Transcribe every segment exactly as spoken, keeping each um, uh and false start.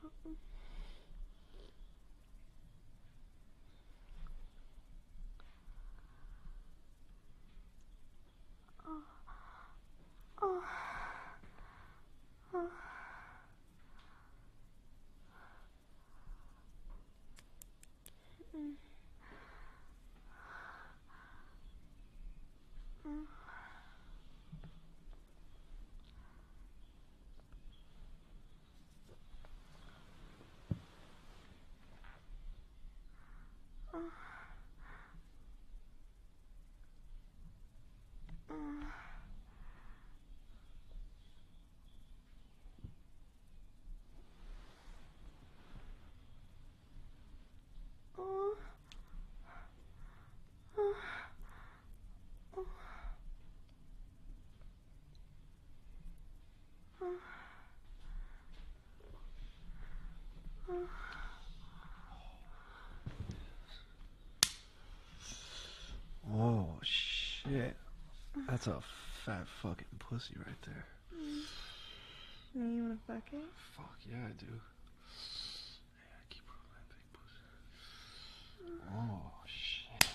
Oh shit. That's a fat fucking pussy right there. Now you wanna fuck it? Fuck yeah, I do. Yeah, keep rolling that big pussy. Oh shit.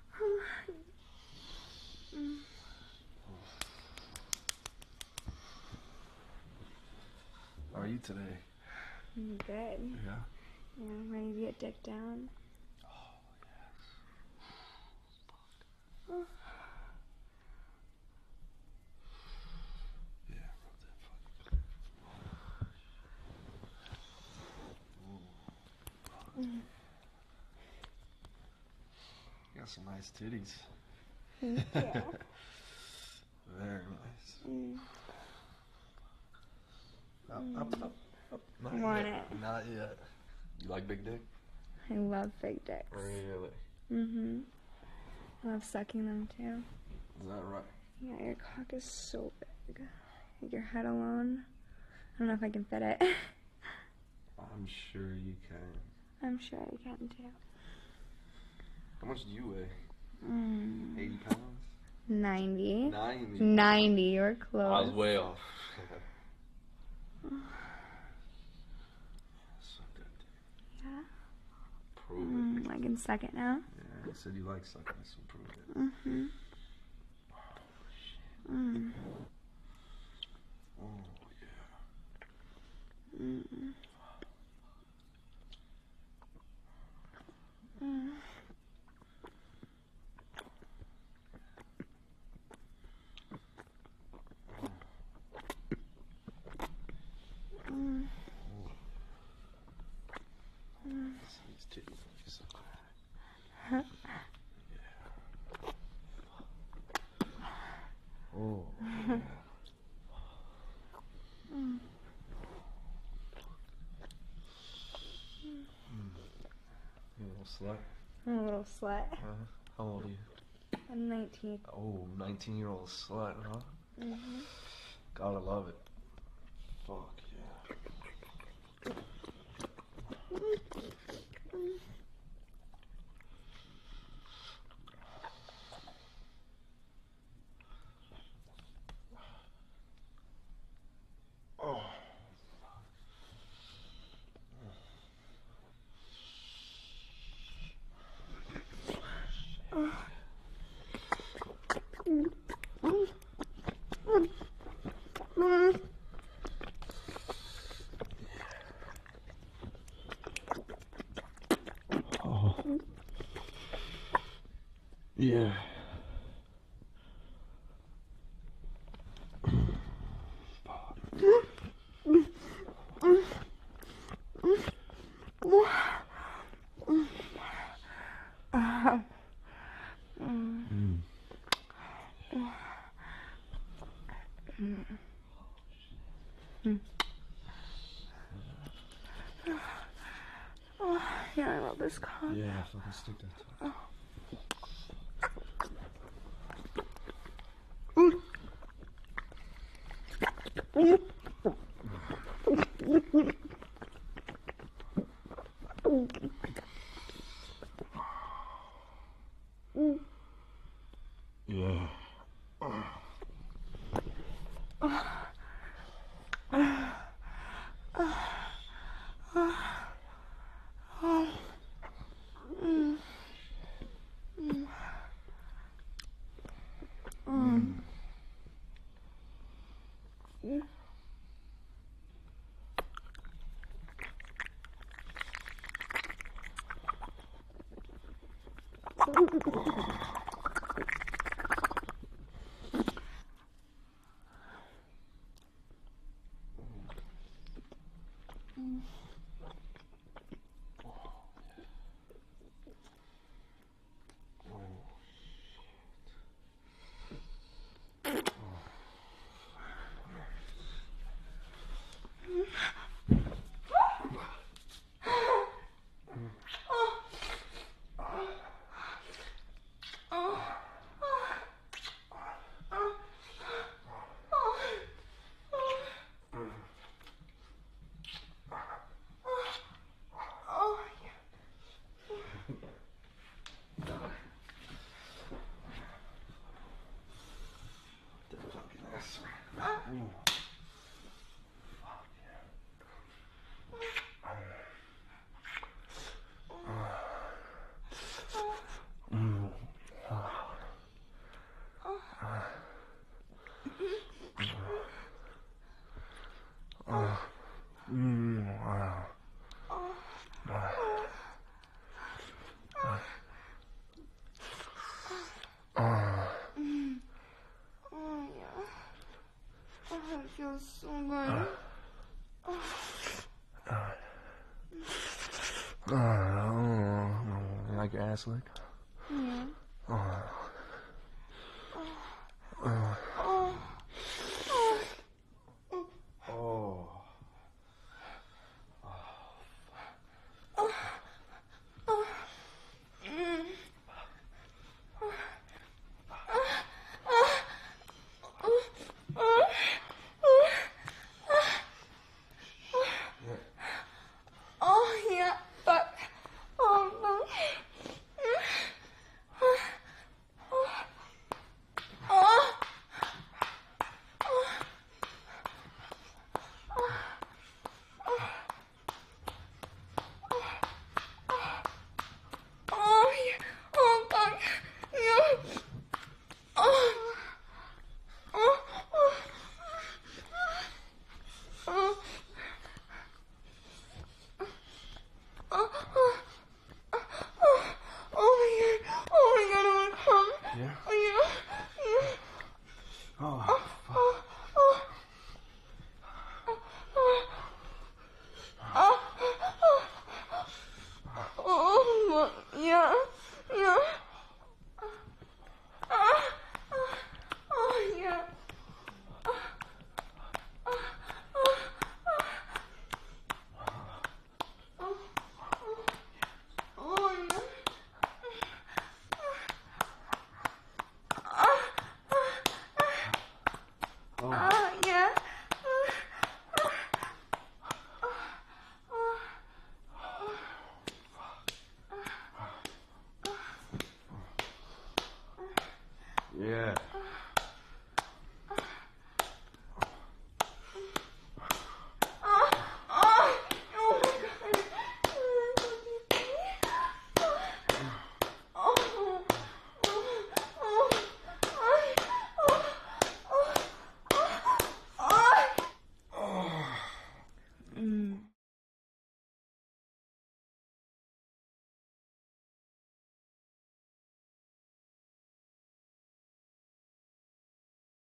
How are you today? I'm good. Yeah. Yeah, I'm ready to get dick down. Oh yes. Oh. Yeah, rub that fucking. Mm. You got some nice titties. Thank you. Very nice. Mm. Up, Mm. up, up, up. Not I want yet. it. Not yet. You like big dick? I love big dicks. Really? Mm-hmm. I love sucking them too. Is that right? Yeah, your cock is so big. Like your head alone. I don't know if I can fit it. I'm sure you can. I'm sure I can too. How much do you weigh? Mm. eighty pounds? ninety. ninety? ninety, you're close. I was way off. Suck that dick. Yeah? Prove it. Mm, I can suck it now? Yeah, you said you like sucking, so prove it. Mm-hmm. Mm. Oh, yeah. Mm. Mm. Mm. Mm. These titties are so good. Huh? Yeah. Oh, yeah. Mm. You little slut. I'm a little slut. Uh, how old are you? I'm nineteen. Oh, nineteen year old slut, huh? Mm-hmm. Gotta love it. Fuck yeah. Oh. Oh. Yeah. Mm. Mm. Oh, yeah, I love this cock. Yeah, fucking stick that to it. Yeah. Oh. It feels so good. Uh, like your ass lick? Yeah. Uh,